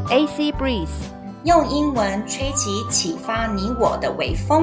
AC Breeze， 用英文吹起啟發你我的微風。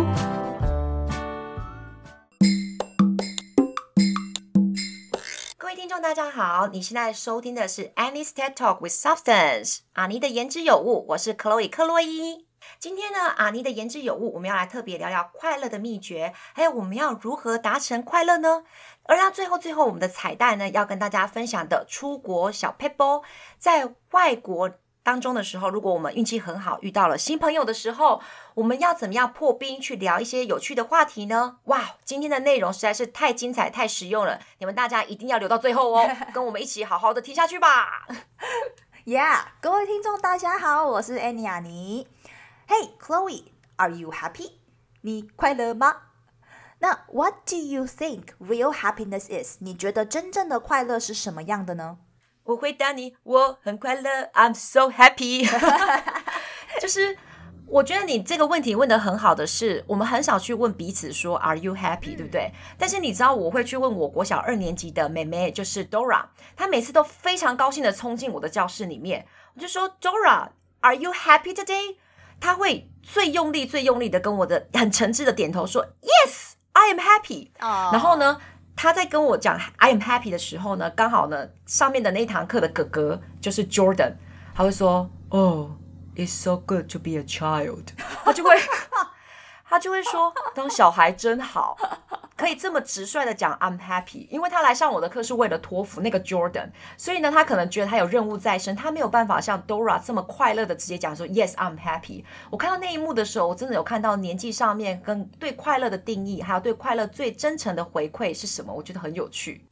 各位听众大家好，你現在收聽的是 Annie's TED Talk with Substance， 阿妮的言之有物，我是 Chloe 克洛伊。今天呢，阿妮的言之有物，我們要來特別聊聊快樂的秘訣，還有我們要如何達成快樂呢？而到最後我們的彩蛋呢，要跟大家分享的出國小撇步，在外國當中的時候，如果我們運氣很好，遇到了新朋友的時候，我們要怎麼樣破冰去聊一些有趣的話題呢？哇，今天的內容實在是太精彩、太實用了，你們大家一定要留到最後哦，跟我們一起好好的聽下去吧。 Yeah， 各位聽眾大家好，我是 Annie 阿妮。Hey Chloe, are you happy? 你快樂嗎？那 What do you think real happiness is? 你覺得真正的快樂是什麼樣的呢？ 我回答你，我很快樂 ，I'm so happy 。就是我覺得你這個問題問得很好的是，我們很少去問彼此說 Are you happy？ 對不對？但是你知道我會去問我國小2年級的妹妹，就是 Dora， 她每次都非常高興的衝進我的教室裡面，我就說 Dora，Are you happy today？ 她會最用力的跟我的很誠摯的點頭說 Yes，I am happy。然後呢，他在跟我講 I am happy 的時候呢，剛好呢上面的那一堂課的哥哥就是 Jordan， 他會說 Oh, it's so good to be a child。 他就會說當小孩真好，可以這麼直率的講 I'm happy。 因為他來上我的課是為了托福那個 Jordan， 所以呢他可能覺得他有任務在身，他沒有辦法像 Dora 這麼快樂的直接講說 Yes, I'm happy。 我看到那一幕的時候，我真的有看到年紀上面跟對快樂的定義，還有對快樂最真誠的回饋是什麼，我覺得很有趣。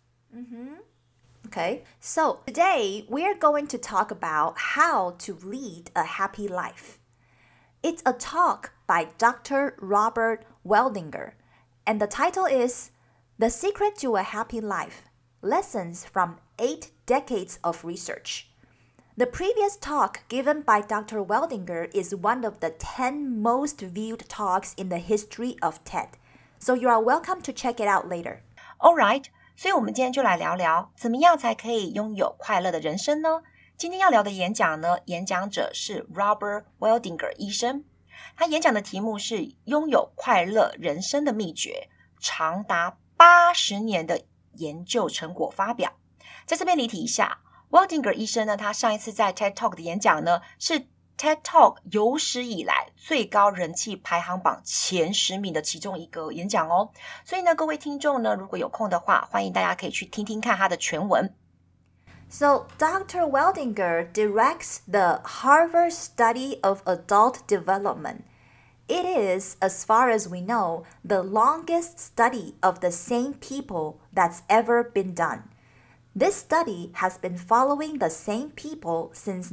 Okay, so today we are going to talk about how to lead a happy life. It's a talk by Dr. Robert Waldinger, and the title is The Secret to a Happy Life, Lessons from 8 Decades of Research. The previous talk given by Dr. Waldinger is one of the 10 most viewed talks in the history of TED, so you are welcome to check it out later. All right, 所以我們今天就來聊聊怎麼樣才可以擁有快樂的人生呢？今天要聊的演講呢，演講者是 Robert Waldinger 醫生，他演講的題目是擁有快樂人生的秘訣，長達80年的研究成果發表。在這邊離題一下， Waldinger 醫生呢，他上一次在 TED Talk 的演講呢，是 TED Talk 有史以來最高人氣排行榜前10名的其中一個演講哦。所以呢，各位聽眾呢，如果有空的話，歡迎大家可以去聽聽看他的全文。 So, Dr. Waldinger directs the Harvard Study of Adult Development. It is, as far as we know, the longest study of the same people that's ever been done. This study has been following the same people since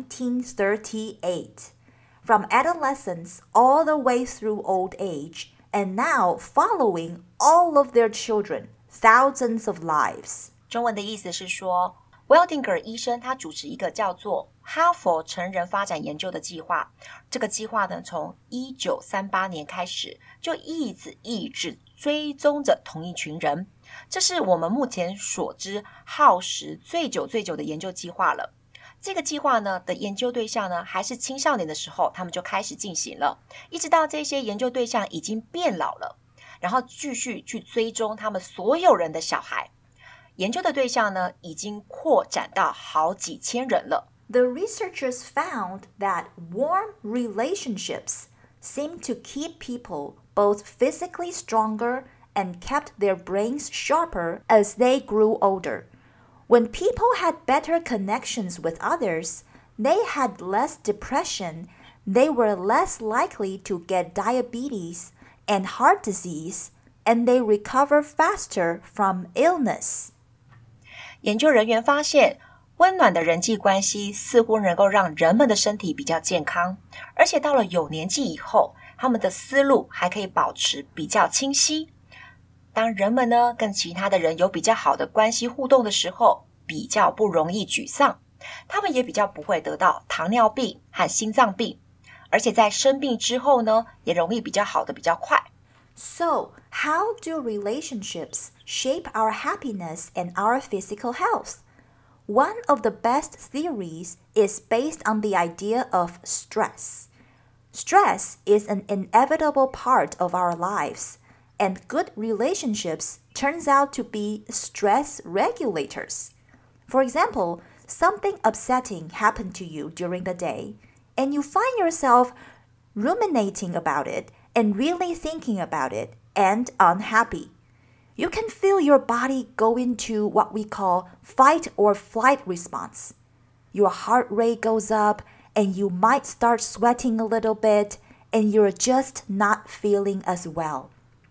1938, from adolescence all the way through old age, and now following all of their children, thousands of lives. 中文的意思是說Waldinger 醫生他主持一個叫做哈佛成人發展研究的計劃，這個計劃呢，從1938年開始就一直追蹤着同一群人，這是我們目前所知耗時最久的研究計劃了。這個計劃呢的研究對象呢還是青少年的時候，他們就開始進行了，一直到這些研究對象已經變老了，然後繼續去追蹤他們所有人的小孩。研究的對象呢，已經擴展到好幾千人了。 The researchers found that warm relationships seem to keep people both physically stronger and kept their brains sharper as they grew older. When people had better connections with others, they had less depression, they were less likely to get diabetes and heart disease, and they recover faster from illness. 研究人員發現，溫暖的人際關係似乎能夠讓人們的身體比較健康，而且到了有年紀以後，他們的思路還可以保持比較清晰。當人們呢跟其他的人有比較好的關係互動的時候，比較不容易沮喪，他們也比較不會得到糖尿病和心臟病，而且在生病之後呢，也容易比較好的比較快。 So, how do relationships shape our happiness and our physical health? one of the best theories is based on the idea of stress. Stress is an inevitable part of our lives, and good relationships turns out to be stress regulators. For example, something upsetting happened to you during the day, and you find yourself ruminating about it and really thinking about it and unhappy. You can feel your body go into what we call fight or flight response. Your heart rate goes up and you might start sweating a little bit and you're just not feeling as well.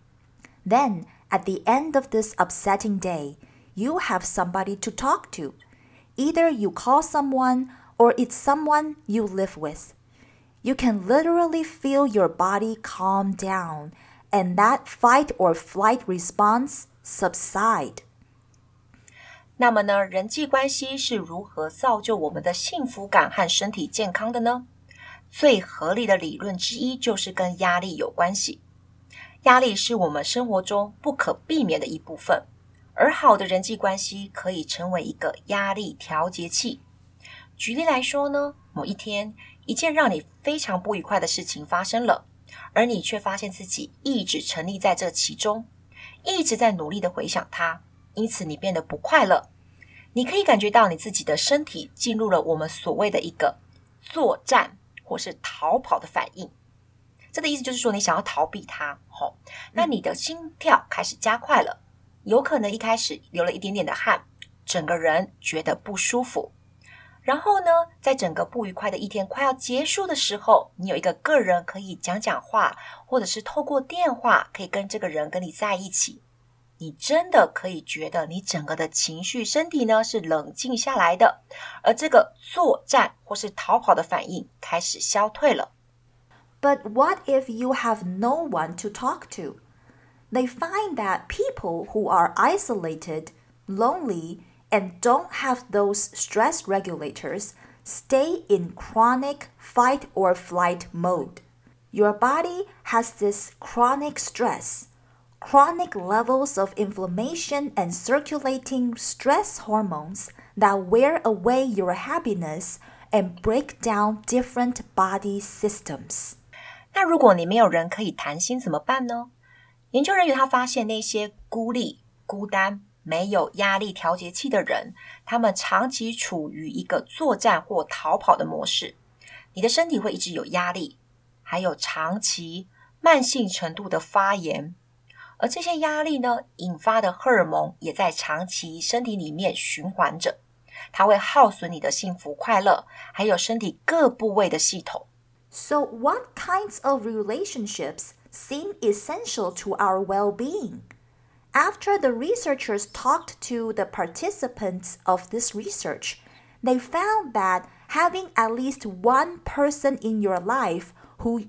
Then, at the end of this upsetting day, you have somebody to talk to. Either you call someone or it's someone you live with. You can literally feel your body calm down and that fight or flight response subside. 那麼呢，人際關係是如何造就我們的幸福感和身體健康的呢？最合理的理論之一就是跟壓力有關係。壓力是我們生活中不可避免的一部分，而好的人際關係可以成為一個壓力調節器。舉例來說呢，某一天，一件讓你非常不愉快的事情發生了，而你卻發現自己一直沉溺在這其中，一直在努力的回想它，因此你變得不快樂。你可以感覺到你自己的身體進入了我們所謂的一個作戰或是逃跑的反應。這個意思就是說你想要逃避它，那你的心跳開始加快了，有可能一開始流了一點點的汗，整個人覺得不舒服。然後呢，在整個不愉快的一天快要結束的時候，你有一個人可以講講話，或者是透過電話可以跟這個人跟你在一起。你真的可以覺得你整個的情緒身體呢是冷靜下來的，而這個作戰或是逃跑的反應開始消退了。 But what if you have no one to talk to? They find that people who are isolated, lonely, and don't have those stress regulators stay in chronic fight or flight mode. Your body has this chronic stress.Chronic levels of inflammation and circulating stress hormones that wear away your happiness and break down different body systems. 那如果你沒有人可以談心怎麼辦呢？研究人員他發現那些孤立、孤單、沒有壓力調節器的人，他們長期處於一個作戰或逃跑的模式。你的身體會一直有壓力，還有長期、慢性程度的發炎。而這些壓力呢，引發的荷爾蒙也在長期身體裡面循環着，它會耗損你的幸福快樂，還有身體各部位的系統。 So what kinds of relationships seem essential to our well-being? After the researchers talked to the participants of this research, they found that having at least one person in your life who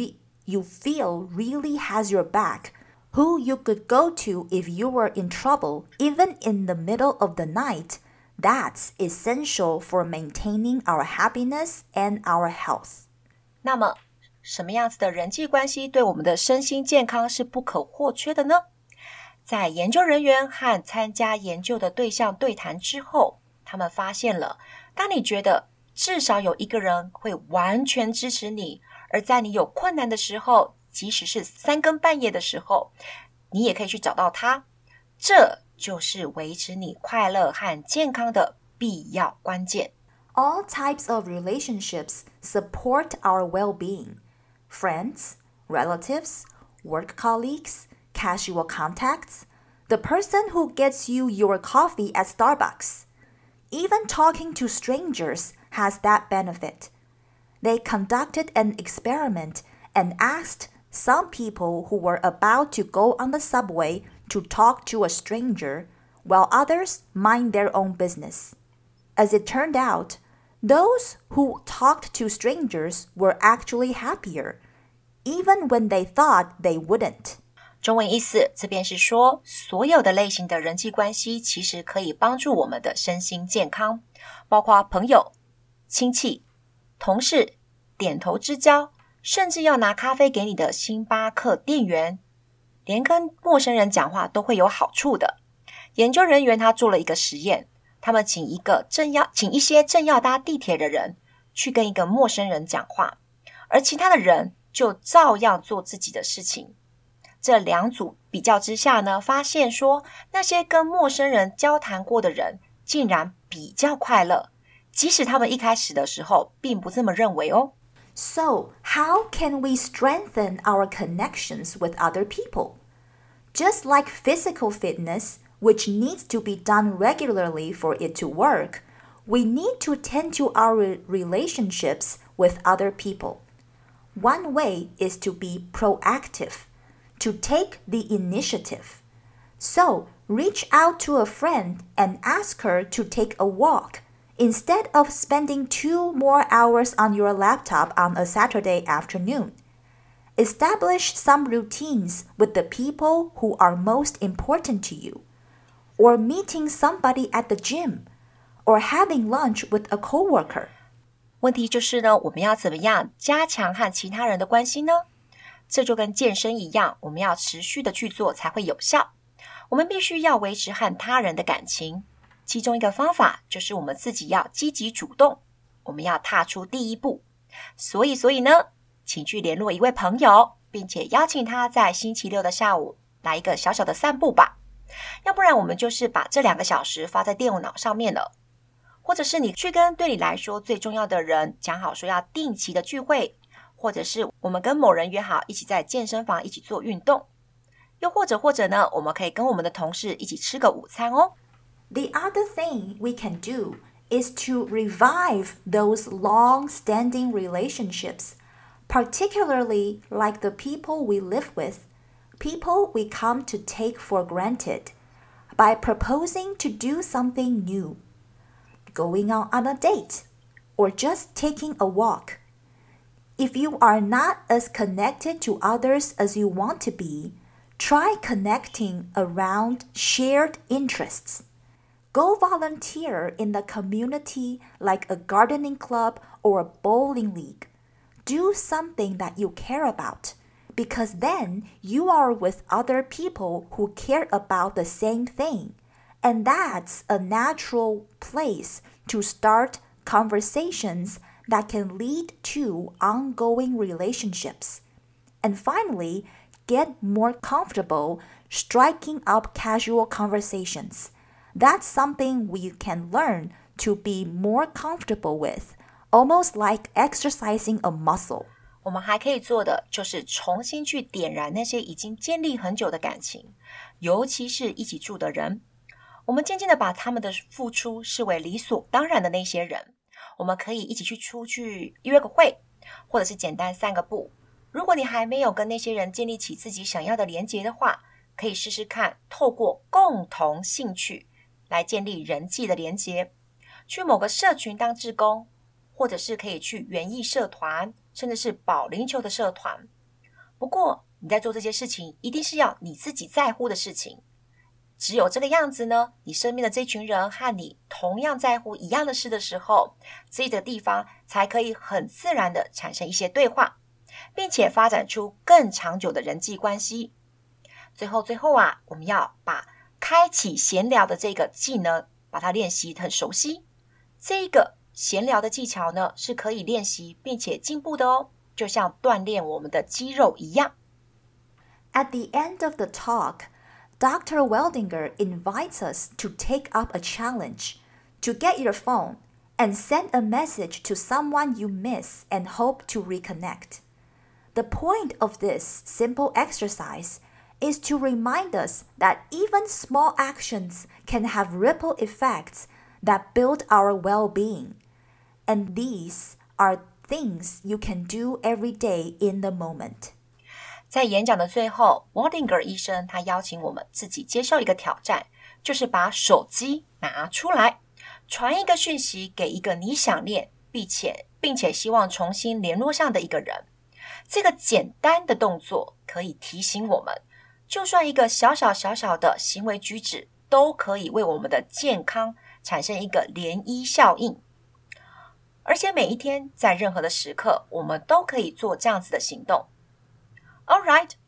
you feel really has your back,who you could go to if you were in trouble, even in the middle of the night, that's essential for maintaining our happiness and our health. 那麼，什麼樣子的人際關係對我們的身心健康是不可或缺的呢？在研究人員和參加研究的對象對談之後，他們發現了，當你覺得至少有一個人會完全支持你，而在你有困難的時候，即使是3更半夜的時候，你也可以去找到他。這就是維持你快樂和健康的必要關鍵。 All types of relationships support our well-being. Friends, relatives, work colleagues, casual contacts, the person who gets you your coffee at Starbucks. Even talking to strangers has that benefit. They conducted an experiment and asked some people who were about to go on the subway to talk to a stranger, while others mind their own business. As it turned out, those who talked to strangers were actually happier, even when they thought they wouldn't. 中文意思這邊是說，所有的類型的人際關係其實可以幫助我們的身心健康，包括朋友、親戚、同事、點頭之交，甚至要拿咖啡給你的星巴克店員，連跟陌生人講話都會有好處的。研究人員他做了一個實驗， 他們請一些正要搭地鐵的人去跟一個陌生人講話，而其他的人就照樣做自己的事情。這兩組比較之下呢，發現說那些跟陌生人交談過的人竟然比較快樂，即使他們一開始的時候並不這麼認為哦。 So, how can we strengthen our connections with other people? Just like physical fitness, which needs to be done regularly for it to work, we need to tend to our relationships with other people. One way is to be proactive, to take the initiative. So, reach out to a friend and ask her to take a walk, instead of spending 2 more hours on your laptop on a Saturday afternoon. Establish some routines with the people who are most important to you, or meeting somebody at the gym, or having lunch with a coworker. 問題就是呢，我們要怎麼樣加強和其他人的關係呢？這就跟健身一樣，我們要持續的去做才會有效。我們必須要維持和他人的感情，其中一個方法就是我們自己要積極主動，我們要踏出第一步。所以呢，請去聯絡一位朋友，並且邀請他在星期六的下午來一個小小的散步吧。要不然我們就是把這2個小時發在電腦上面了，或者是你去跟對你來說最重要的人講好說要定期的聚會，或者是我們跟某人約好一起在健身房一起做運動，又或者呢，我們可以跟我們的同事一起吃個午餐哦。 The other thing we can do is to revive those long-standing relationships, particularly like the people we live with, people we come to take for granted, by proposing to do something new, going out on a date, or just taking a walk. If you are not as connected to others as you want to be, try connecting around shared interests. Go volunteer in the community like a gardening club or a bowling league. Do something that you care about, because then you are with other people who care about the same thing, and that's a natural place to start conversations that can lead to ongoing relationships. And finally, get more comfortable striking up casual conversations.That's something we can learn to be more comfortable with, almost like exercising a muscle. 我們還可以做的就是重新去點燃那些已經建立很久的感情，尤其是一起住的人。我們漸漸的把他們的付出視為理所當然的那些人，我們可以一起出去約個會，或者是簡單散個步。如果你還沒有跟那些人建立起自己想要的連結的話，可以試試看透過共同興趣來建立人際的連結，去某個社群當志工，或者是可以去園藝社團，甚至是保齡球的社團。不過你在做這些事情一定是要你自己在乎的事情，只有這個樣子呢，你身邊的這群人和你同樣在乎一樣的事的時候，這個地方才可以很自然的產生一些對話，並且發展出更長久的人際關係。最後啊，我們要把開啟閒聊的這個技能，把它練習很熟悉。這個閒聊的技巧呢，是可以練習並且進步的哦，就像鍛鍊我們的肌肉一樣。 At the end of the talk, Dr. Weldinger invites us to take up a challenge, to get your phone and send a message to someone you miss and hope to reconnect. The point of this simple exercise is to remind us that even small actions can have ripple effects that build our well-being. And these are things you can do every day in the moment. 在演講的最後 Weldinger 醫生他邀請我們自己接受一個挑戰，就是把手機拿出來，傳一個訊息給一個你想念並且希望重新聯絡上的一個人。這個簡單的動作可以提醒我們，就算一個小小的行為舉止，都可以為我們的健康產生一個漣漪效應。而且每一天在任何的時刻，我們都可以做這樣子的行動。All right,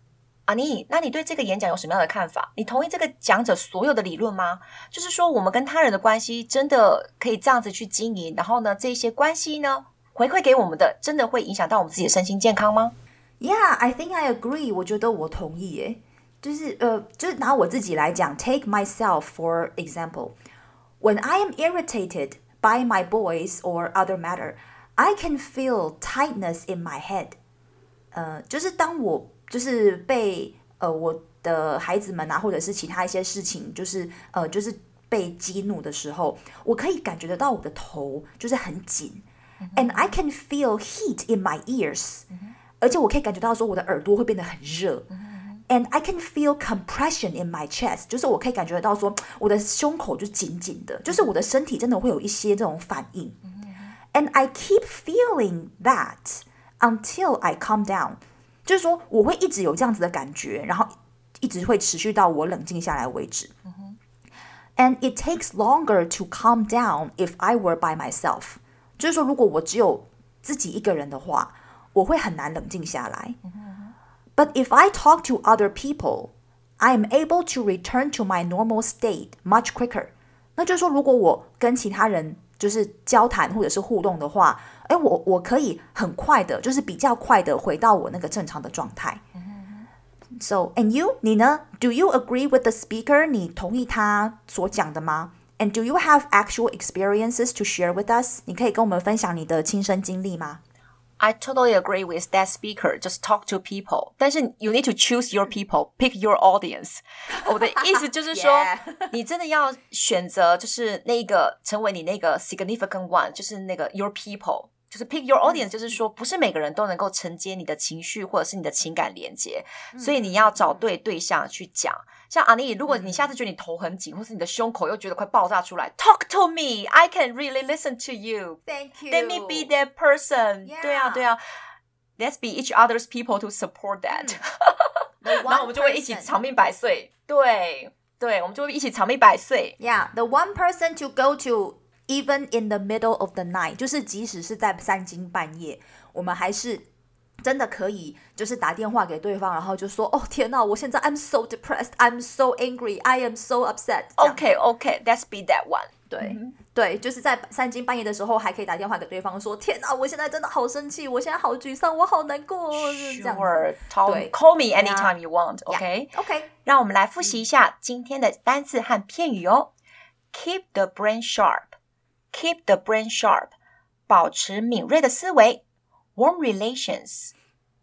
阿妮，那你對這個演講有什麼樣的看法？你同意這個講者所有的理論嗎？就是說，我們跟他人的關係真的可以這樣子去經營，然後呢，這些關係呢，回饋給我們的，真的會影響到我們自己的身心健康嗎？ Yeah, I think I agree. 我覺得我同意耶。就是拿我自己來講 ，take myself for example. When I am irritated by my boys or other matter, I can feel tightness in my head. 就是當我就是被我的孩子們啊，或者是其他一些事情，就是被激怒的時候，我可以感覺得到我的頭就是很緊，and I can feel heat in my ears，而且我可以感覺到說我的耳朵會變得很熱。And I can feel compression in my chest， 就是我可以感覺得到說我的胸口就緊緊的，就是我的身體真的會有一些這種反應。And I keep feeling that until I calm down， 就是說我會一直有這樣子的感覺，然後一直會持續到我冷靜下來為止。And it takes longer to calm down if I were by myself， 就是說如果我只有自己一個人的話，我會很難冷靜下來。But if I talk to other people, I am able to return to my normal state much quicker. 那就是說，如果我跟其他人就是交談或者是互動的話，我可以很快的，就是比較快的回到我那個正常的狀態。So, and you, 你呢？ Do you agree with the speaker? 你同意他所講的嗎？ And do you have actual experiences to share with us? 你可以跟我們分享你的親身經歷嗎 ？I totally agree with that speaker. Just talk to people. 但是 you need to choose your people, pick your audience. 我的意思就是說， Yeah. 你真的要選擇，就是那個成為你那個 significant one， 就是那個 your people， 就是 pick your audience， 就是說不是每個人都能夠承接你的情緒或者是你的情感連接，所以你要找對象去講。像阿妮，如果你下次覺得你頭很緊，或是你的胸口又覺得快爆炸出來 ，Talk to me, I can really listen to you. Thank you. Let me be that person. Yeah. 对啊 ，Let's be each other's people to support that. 然後我們就會一起长命百歲。对，我們就會一起長命百歲。 Yeah, the one person to go to even in the middle of the night， 就是即使是在三更半夜，我們還是真的可以就是打電話給對方，然後就說哦天哪，我現在 I'm so depressed, I'm so angry, I am so upset. Okay, let's be that one. 對，就是在三更半夜的時候還可以打電話給對方說天哪，我現在真的好生氣，我現在好沮喪，我好難過。 Sure, call me anytime you want. Okay. Okay. 讓我們來複習一下今天的單字和片語哦。Keep the brain sharp. Keep the brain sharp. 保持敏銳的思維。Warm relations.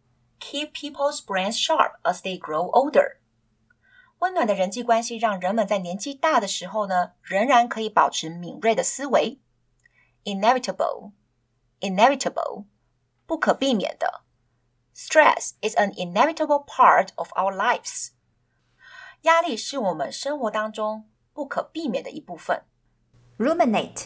Keep people's brains sharp as they grow older. 溫暖的人際關係讓人們在年紀大的時候呢，仍然可以保持敏銳的思維。Inevitable. 不可避免的。Stress is an inevitable part of our lives. 壓力是我們生活當中不可避免的一部分。 Ruminate.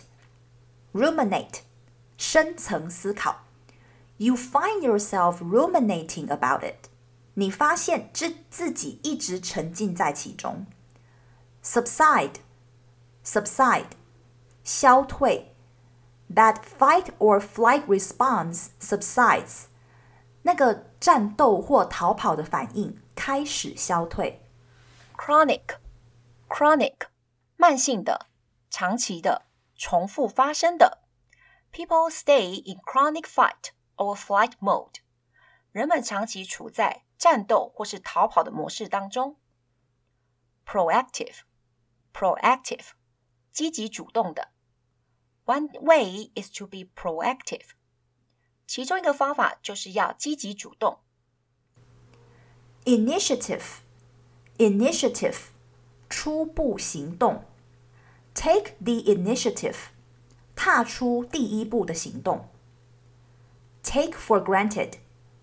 深層思考。You find yourself ruminating about it. 你發現自己一直沉浸在其中。Subside. 消退。That fight or flight response subsides. 那個戰鬥或逃跑的反應開始消退。 Chronic. 慢性的、長期的、重複發生的。People stay in chronic fight or flight mode. 人們長期處在戰鬥或是逃跑的模式當中。Proactive. 積極主動的。One way is to be proactive. 其中一個方法就是要積極主動。 Initiative. 初步行動。Take the initiative. 踏出第一步的行動。Take for granted.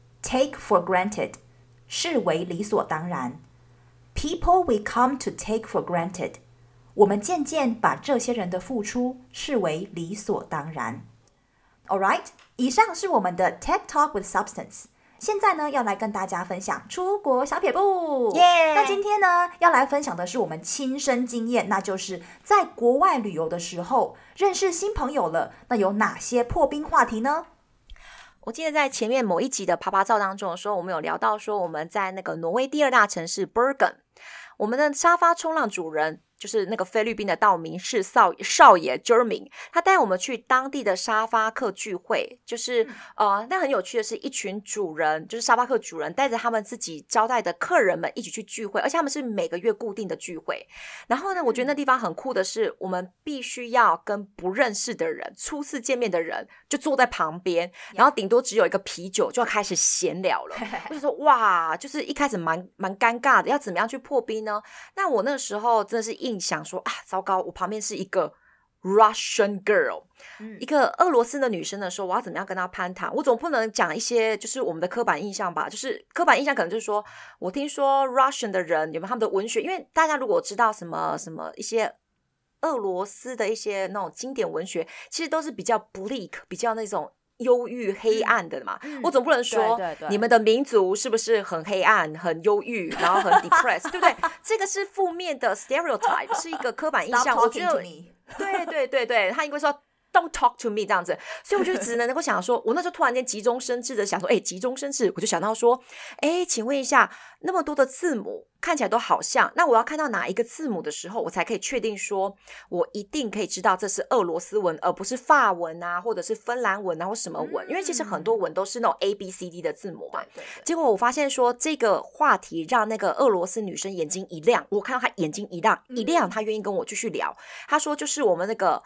視為理所當然。People we come to take for granted. 我們漸漸把這些人的付出視為理所當然。Alright, 以上是我們的 TED Talk with Substance。現在呢，要來跟大家分享出國小撇步。那今天呢，要來分享的是我們親身經驗，那就是在國外旅遊的時候認識新朋友了，那有哪些破冰話題呢？ 我記得在前面某一集的啪啪照當中說，我們有聊到說我們在那個挪威第2大城市 Bergen， 我們的沙發衝浪主人就是那個菲律賓的道明寺少爺 Jeremy， 他帶我們去當地的沙發客聚會，就是那很有趣的是，一群主人就是沙發客主人带着他們自己招待的客人們一起去聚會，而且他們是每個月固定的聚會。然後呢，我覺得那地方很酷的是，我們必須要跟不認識的人、初次見面的人就坐在旁邊，然後頂多只有一個啤酒就要開始閒聊了。我就說哇，就是一開始蠻尷尬的，要怎麼樣去破冰呢？那我那時候真的是想說啊，糟糕，我旁邊是一個 Russian girl，一個俄羅斯的女生的時候，我要怎麼樣跟她攀談？我總不能講一些就是我們的刻板印象吧，就是刻板印象可能就是說我聽說 Russian 的人有沒有他們的文學，因為大家如果知道什麼一些俄羅斯的一些那種經典文学，其實都是比較 bleak， 比較那種憂鬱黑暗的嘛，我總不能說對你們的民族是不是很黑暗、很憂鬱，然後很 depressed， 对不对？这個是負面的 stereotype， 是一個刻板印象。我覺得，對，他應該說 Don't talk to me 這樣子，所以我就只能夠想說，我那時候突然間急中生智的想說，急中生智，我就想到說，請問一下，那麼多的字母看起來都好像，那我要看到哪一個字母的時候，我才可以確定說我一定可以知道這是俄羅斯文，而不是法文啊，或者是芬蘭文啊，或什麼文，因為其實很多文都是那種 ABCD 的字母嘛。對。結果我發現說，這個話題讓那個俄羅斯女生眼睛一亮，我看到她眼睛一亮，她願意跟我繼續聊。她說就是我們那個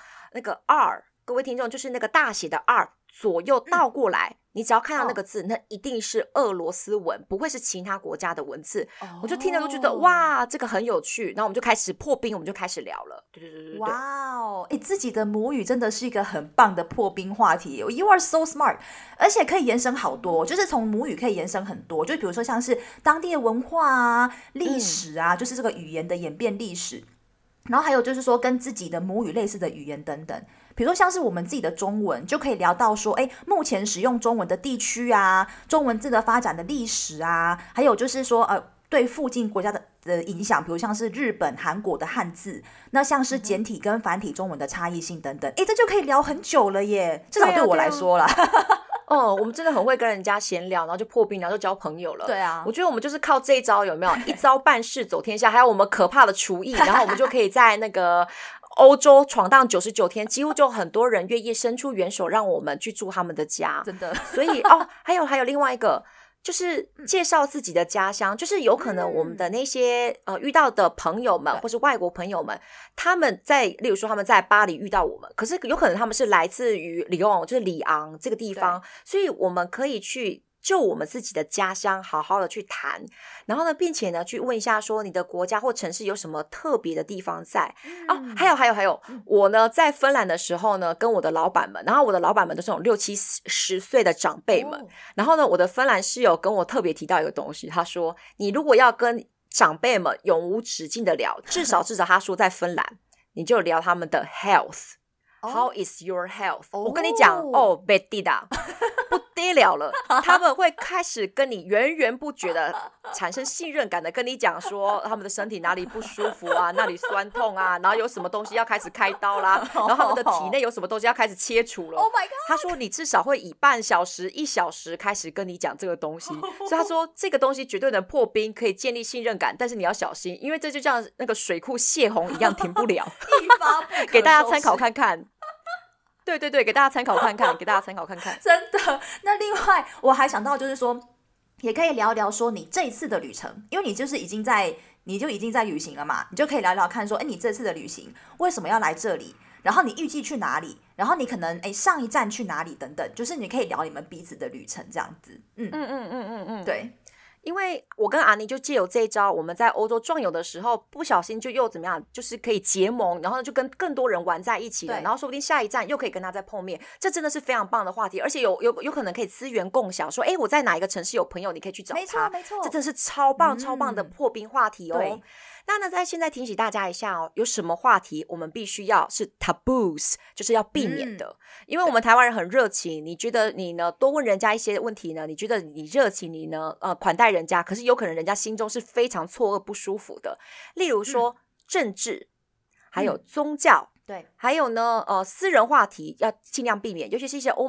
R。各位聽眾，就是那個大寫的 R 左右倒過來，你只要看到那個字，那一定是俄羅斯文，不會是其他國家的文字。我就聽了都覺得哇，這個很有趣，然後我們就開始破冰，我們就開始聊了。對。 哇哦，自己的母語真的是一個很棒的破冰話題。You are so smart， 而且可以延伸好多，就是從母語可以延伸很多，就比如說像是當地的文化啊、歷史啊，就是這個語言的演變歷史。然後還有就是說跟自己的母語類似的語言等等，比如說像是我們自己的中文，就可以聊到說，目前使用中文的地區啊，中文字的發展的歷史啊，還有就是說對附近國家的影響，比如像是日本、韓國的漢字，那像是簡體跟繁體中文的差異性等等，這就可以聊很久了耶，至少對我來說啦。 我們真的很會跟人家閒聊，然後就破冰，然後就交朋友了。對啊， 我覺得我們就是靠這一招，有沒有？一招辦事走天下，還有我們可怕的廚藝，然後我們就可以在那個歐洲闖蕩99天，幾乎就很多人願意伸出援手讓我們去住他們的家。真的，所以還有另外一個。就是介紹自己的家鄉，就是有可能我們的那些遇到的朋友們，或是外國朋友們，他們例如說他們在巴黎遇到我們，可是有可能他們是來自於里昂，就是里昂這個地方，所以我們可以去就我們自己的家鄉好好的去談，然後呢，並且呢去問一下說你的國家或城市有什麼特別的地方在。還有，我呢在芬蘭的時候呢，跟我的老闆們，然後我的老闆們都是那種60-70歲的長輩們，然後呢，我的芬蘭室友跟我特別提到一個東西，他說你如果要跟長輩們永無止境的聊，至少他說在芬蘭，你就聊他們的 health。How is your health？ 我跟你講別地的不得了了，他們會開始跟你源源不絕的產生信任感的跟你講說他們的身體哪裡不舒服啊，哪裡酸痛啊，然後有什麼東西要開始開刀啦，然後他們的體內有什麼東西要開始切除了。Oh my god！ 他說你至少會以半小時、1小時開始跟你講這個東西，所以他說這個東西絕對能破冰，可以建立信任感，但是你要小心，因為這就像那個水庫洩洪一樣停不了。 一發不可收拾。 給大家參考看看。對，給大家參考看看， 真的。那另外我還想到就是說，也可以聊聊說你這一次的旅程，因為你就已經在旅行了嘛，你就可以聊聊看說，你這次的旅行為什麼要來這裡，然後你預計去哪裡，然後你可能上一站去哪裡等等，就是你可以聊你們彼此的旅程這樣子。對。 因為我跟阿妮就借由這一招，我們在歐洲壯遊的時候，不小心就又怎麼樣，就是可以結盟，然後就跟更多人玩在一起了，然後說不定下一站又可以跟他再碰面，這真的是非常棒的話題，而且有可能可以資源共享，說我在哪一個城市有朋友，你可以去找他，沒錯，這真的是超棒的破冰話題哦。對。那呢，在現在提醒大家一下哦，有什麼話題我們必須要是 taboos， 就是要避免的。因為我們台灣人很熱情，你覺得你呢多問人家一些問題呢，你覺得你熱情，你呢款待人家，可是有可能人家心中是非常錯愕不舒服的。例如說政治，還有宗教，對，還有呢私人話題要盡量避免，尤其是一些歐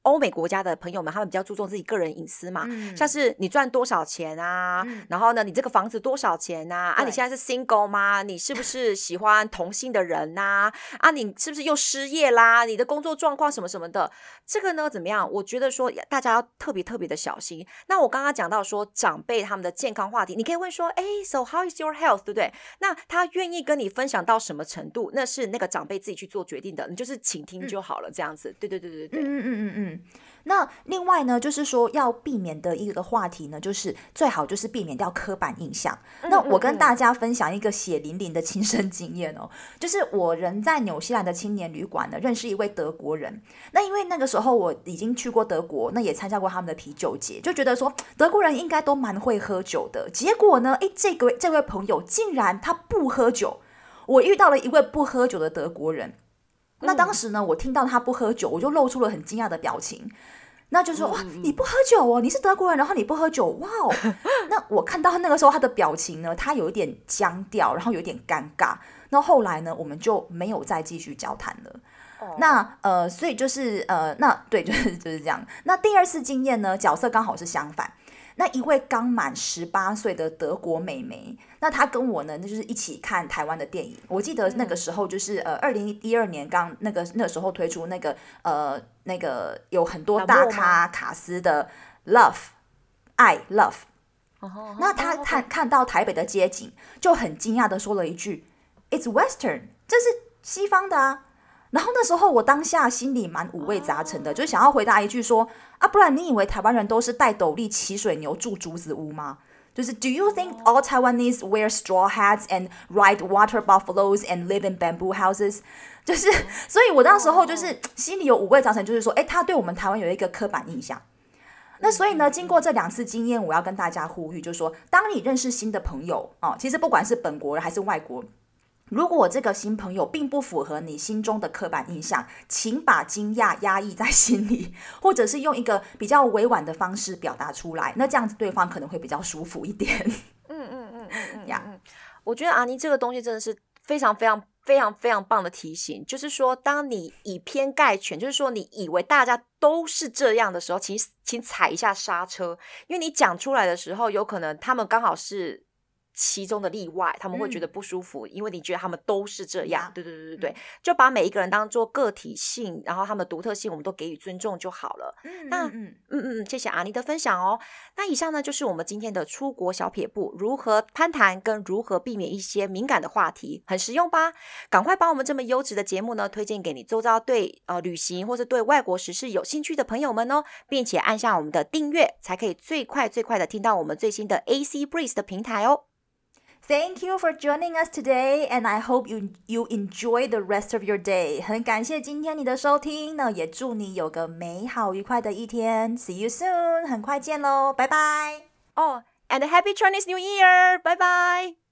歐美國家的朋友們，他們比較注重自己個人隱私嘛，像是你賺多少錢啊，然後呢，你這個房子多少錢啊？啊，你現在是 single 嗎？你是不是喜歡同性的人吶？啊，你是不是又失業啦？你的工作狀況什麼什麼的，這個呢怎麼樣？我覺得說大家要特別的小心。那我剛剛講到說長輩他們的健康話題，你可以問說，So how is your health？ 對不對？那他願意跟你分享到什麼程度，那是那個長輩自己去做決定的，你就是傾聽就好了，這樣子。對。 那另外呢，就是說要避免的一個話題呢，就是最好就是避免掉刻板印象。那我跟大家分享一個血淋淋的親身經驗哦，就是我人在紐西蘭的青年旅館呢，認識一位德國人。那因為那個時候我已經去過德國，那也參加過他們的啤酒節，就覺得說德國人應該都蠻會喝酒的。結果呢，這位朋友竟然他不喝酒，我遇到了一位不喝酒的德國人。那當時呢，我聽到他不喝酒，我就露出了很驚訝的表情。那就說哇，你不喝酒哦，你是德國人，然後你不喝酒，哇哦！那我看到那個時候他的表情呢，他有一點僵掉，然後有點尷尬。那後來呢，我們就沒有再繼續交談了。那所以就是那對，就是這樣。那第二次經驗呢，角色剛好是相反。那一位剛滿18歲的德國美眉，那她跟我呢，那就是一起看台灣的電影。我記得那個時候就是2012年剛那個時候推出那個有很多大咖卡司的 Love。那她看到台北的街景，就很驚訝的說了一句 "It's Western， 這是西方的啊。"然後那時候我當下心裡蠻五味雜陳的，就想要回答一句說啊，不然你以為台灣人都是戴斗笠、騎水牛、住竹子屋嗎？就是 Do you think all Taiwanese wear straw hats and ride water buffaloes and live in bamboo houses？ 就是所以我那時候就是心裡有五味雜陳，就是說他對我們台灣有一個刻板印象。那所以呢，經過這2次經驗，我要跟大家呼籲，就是說當你認識新的朋友其實不管是本國人還是外國，如果這個新朋友並不符合你心中的刻板印象，請把驚訝壓抑在心裡，或者是用一個比較委婉的方式表達出來，那這樣子對方可能會比較舒服一點。 我覺得阿妮這個東西真的是非常棒的提醒，就是說當你以偏概全，就是說你以為大家都是這樣的時候，請踩一下剎車，因為你講出來的時候，有可能他們剛好是其中的例外，他們會覺得不舒服，因為你覺得他們都是這樣。對，就把每一個人當作個體性，然後他們的獨特性我們都給予尊重就好了。謝謝阿妮的分享哦。那以上呢就是我們今天的出國小撇步，如何攀談跟如何避免一些敏感的話題，很實用吧？趕快把我們這麼優質的節目呢推薦給你周遭對旅行或是對外國時事有興趣的朋友們哦，並且按下我們的訂閱，才可以最快的聽到我們最新的 AC Breeze 的平台哦。 Thank you for joining us today, and I hope you enjoy the rest of your day. 很感謝今天你的收聽，那也祝你有個美好愉快的一天。See you soon， 很快見嘍，拜拜。 And a happy Chinese New Year， 拜拜。